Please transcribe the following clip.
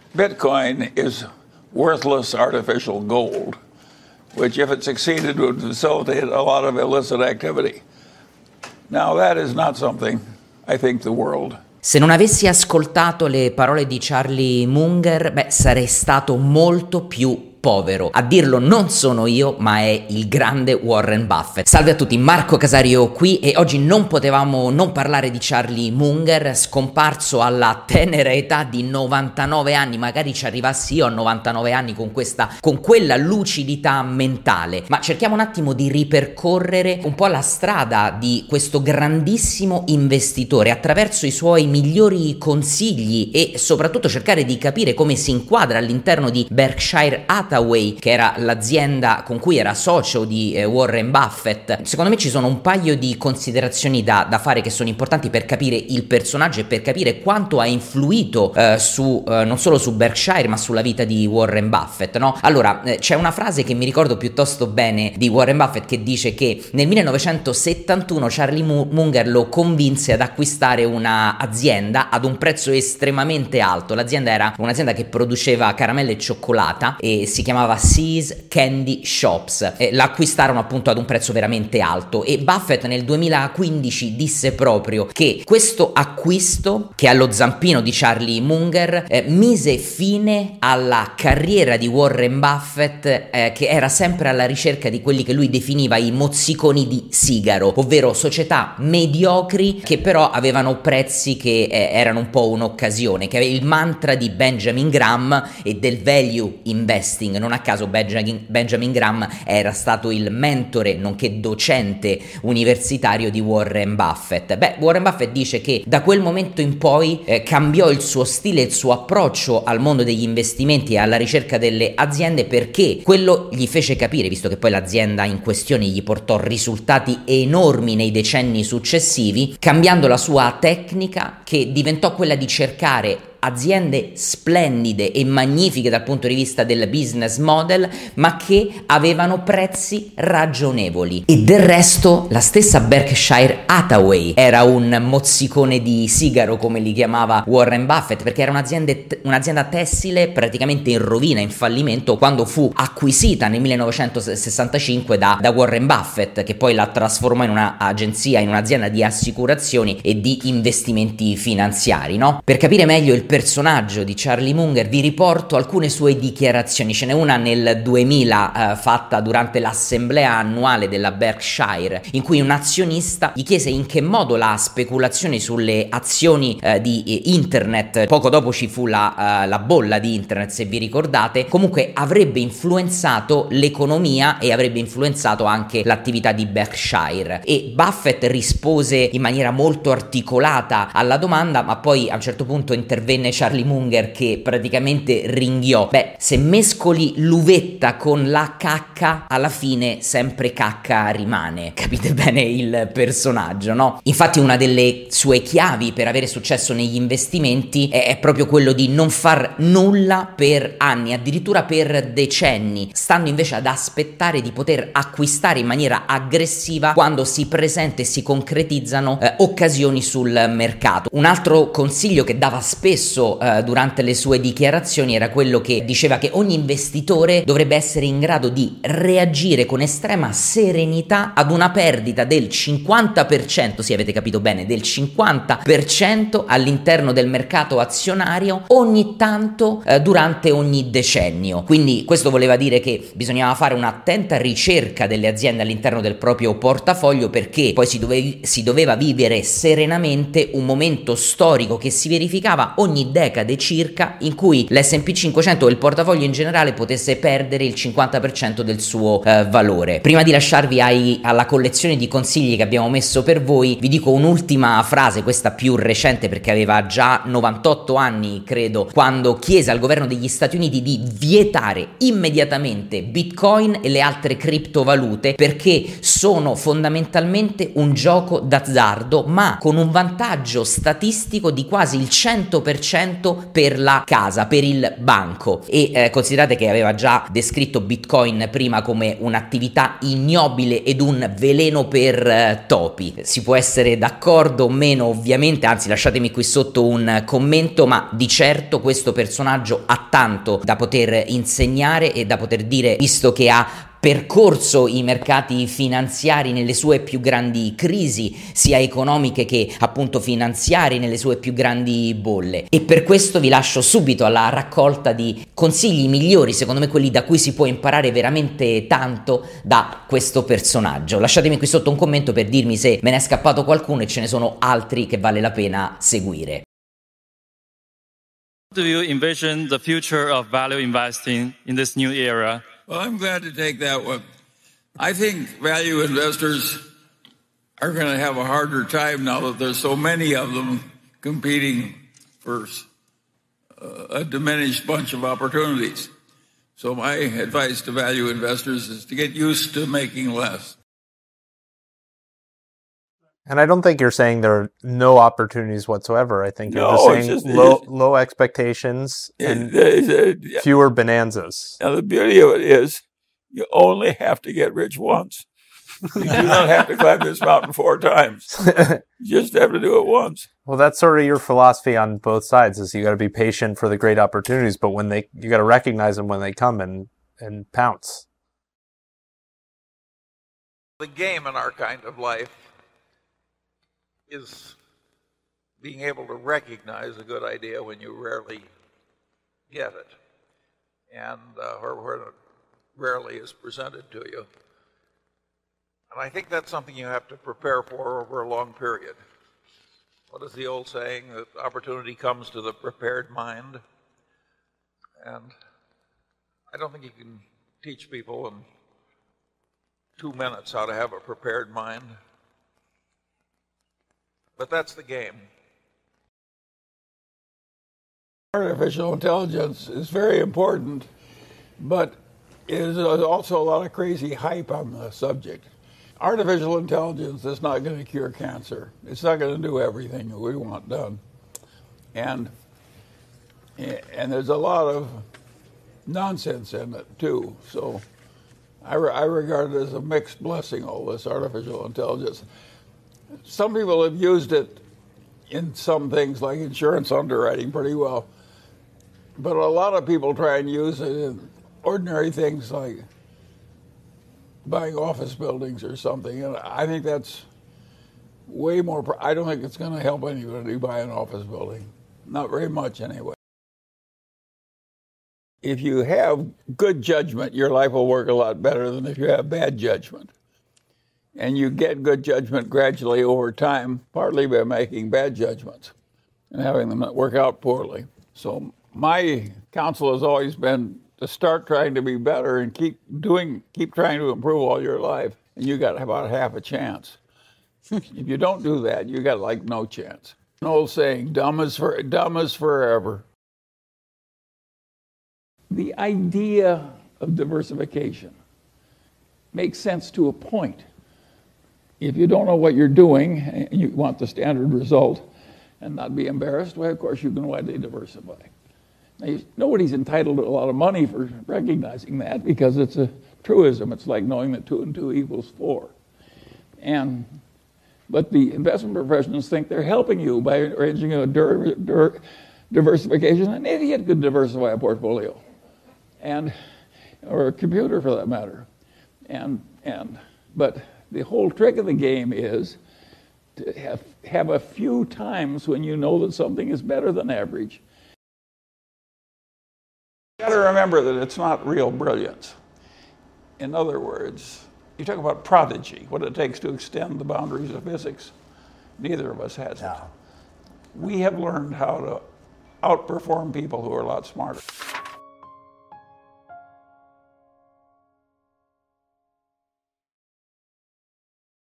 Bitcoin is worthless artificial gold, which, if it succeeded, would facilitate a lot of illicit activity. Now, that is not something I think the world. Se non avessi ascoltato le parole di Charlie Munger, sarei stato molto più povero. A dirlo non sono io, ma è il grande Warren Buffett. Salve a tutti, Marco Casario qui e oggi non potevamo non parlare di Charlie Munger, scomparso alla tenera età di 99 anni. Magari ci arrivassi io a 99 anni con quella lucidità mentale. Ma cerchiamo un attimo di ripercorrere un po' la strada di questo grandissimo investitore attraverso i suoi migliori consigli e soprattutto cercare di capire come si inquadra all'interno di Berkshire Hathaway, che era l'azienda con cui era socio di Warren Buffett. Secondo me ci sono un paio di considerazioni da fare che sono importanti per capire il personaggio e per capire quanto ha influito non solo su Berkshire ma sulla vita di Warren Buffett, no? Allora, c'è una frase che mi ricordo piuttosto bene di Warren Buffett che dice che nel 1971 Charlie Munger lo convinse ad acquistare una azienda ad un prezzo estremamente alto. L'azienda era un'azienda che produceva caramelle e cioccolata e si chiamava See's Candy Shops. L'acquistarono appunto ad un prezzo veramente alto e Buffett nel 2015 disse proprio che questo acquisto, che allo zampino di Charlie Munger, mise fine alla carriera di Warren Buffett, che era sempre alla ricerca di quelli che lui definiva i mozziconi di sigaro, ovvero società mediocri che però avevano prezzi che erano un po' un'occasione, che è il mantra di Benjamin Graham e del value investing. Non a caso Benjamin Graham era stato il mentore nonché docente universitario di Warren Buffett. Warren Buffett dice che da quel momento in poi cambiò il suo stile, il suo approccio al mondo degli investimenti e alla ricerca delle aziende, perché quello gli fece capire, visto che poi l'azienda in questione gli portò risultati enormi nei decenni successivi, cambiando la sua tecnica, che diventò quella di cercare aziende splendide e magnifiche dal punto di vista del business model, ma che avevano prezzi ragionevoli. E del resto la stessa Berkshire Hathaway era un mozzicone di sigaro, come li chiamava Warren Buffett, perché era un'azienda tessile praticamente in rovina, in fallimento, quando fu acquisita nel 1965 da Warren Buffett, che poi la trasformò in un'agenzia, in un'azienda di assicurazioni e di investimenti finanziari, no? Per capire meglio il personaggio di Charlie Munger vi riporto alcune sue dichiarazioni. Ce n'è una nel 2000 fatta durante l'assemblea annuale della Berkshire, in cui un azionista gli chiese in che modo la speculazione sulle azioni di internet, poco dopo ci fu la bolla di internet, se vi ricordate, comunque avrebbe influenzato l'economia e avrebbe influenzato anche l'attività di Berkshire. E Buffett rispose in maniera molto articolata alla domanda, ma poi a un certo punto intervenne Charlie Munger che praticamente ringhiò: se mescoli l'uvetta con la cacca, alla fine sempre cacca rimane. Capite bene il personaggio, no? Infatti una delle sue chiavi per avere successo negli investimenti è proprio quello di non far nulla per anni, addirittura per decenni, stando invece ad aspettare di poter acquistare in maniera aggressiva quando si presenta e si concretizzano occasioni sul mercato. Un altro consiglio che dava spesso durante le sue dichiarazioni era quello che diceva che ogni investitore dovrebbe essere in grado di reagire con estrema serenità ad una perdita del 50%, sì, avete capito bene, del 50% all'interno del mercato azionario ogni tanto durante ogni decennio. Quindi questo voleva dire che bisognava fare un'attenta ricerca delle aziende all'interno del proprio portafoglio, perché poi si doveva vivere serenamente un momento storico che si verificava ogni decade circa, in cui l'S&P 500 o il portafoglio in generale potesse perdere il 50% del suo valore. Prima di lasciarvi alla collezione di consigli che abbiamo messo per voi, vi dico un'ultima frase, questa più recente perché aveva già 98 anni credo, quando chiese al governo degli Stati Uniti di vietare immediatamente Bitcoin e le altre criptovalute, perché sono fondamentalmente un gioco d'azzardo, ma con un vantaggio statistico di quasi il 100% 100% per la casa, per il banco. E considerate che aveva già descritto Bitcoin prima come un'attività ignobile ed un veleno per topi. Si può essere d'accordo o meno, ovviamente, anzi lasciatemi qui sotto un commento, ma di certo questo personaggio ha tanto da poter insegnare e da poter dire, visto che ha percorso i mercati finanziari nelle sue più grandi crisi, sia economiche che appunto finanziarie, nelle sue più grandi bolle. E per questo vi lascio subito alla raccolta di consigli migliori, secondo me quelli da cui si può imparare veramente tanto da questo personaggio. Lasciatemi qui sotto un commento per dirmi se me ne è scappato qualcuno e ce ne sono altri che vale la pena seguire. How do you envision the future of value investing in this new era? Well, I'm glad to take that one. I think value investors are going to have a harder time now that there's so many of them competing for a diminished bunch of opportunities. So my advice to value investors is to get used to making less. And I don't think you're saying there are no opportunities whatsoever. I think you're just saying low expectations and fewer bonanzas. Now, the beauty of it is you only have to get rich once. You do not have to climb this mountain 4 times. You just have to do it once. Well, that's sort of your philosophy on both sides, is you got to be patient for the great opportunities, but you got to recognize them when they come and pounce. The game in our kind of life is being able to recognize a good idea when you rarely get it, and or when it rarely is presented to you. And I think that's something you have to prepare for over a long period. What is the old saying? That opportunity comes to the prepared mind. And I don't think you can teach people in 2 minutes how to have a prepared mind. But that's the game. Artificial intelligence is very important, but there's also a lot of crazy hype on the subject. Artificial intelligence is not going to cure cancer. It's not going to do everything we want done. And there's a lot of nonsense in it, too. So I regard it as a mixed blessing, all this artificial intelligence. Some people have used it in some things like insurance underwriting pretty well. But a lot of people try and use it in ordinary things like buying office buildings or something. And I think that's way more, I don't think it's going to help anybody buy an office building. Not very much anyway. If you have good judgment, your life will work a lot better than if you have bad judgment. And you get good judgment gradually over time, partly by making bad judgments and having them work out poorly. So my counsel has always been to start trying to be better and keep trying to improve all your life, and you got about half a chance. If you don't do that, you got like no chance. An old saying, dumb is forever. The idea of diversification makes sense to a point. If you don't know what you're doing and you want the standard result and not be embarrassed, well, of course, you can widely diversify. Now, nobody's entitled to a lot of money for recognizing that because it's a truism. It's like knowing that 2 and 2 equals 4. But the investment professionals think they're helping you by arranging a diversification. An idiot could diversify a portfolio, or a computer for that matter. But the whole trick of the game is to have a few times when you know that something is better than average. You got to remember that it's not real brilliance. In other words, you talk about prodigy, what it takes to extend the boundaries of physics. Neither of us has it. We have learned how to outperform people who are a lot smarter.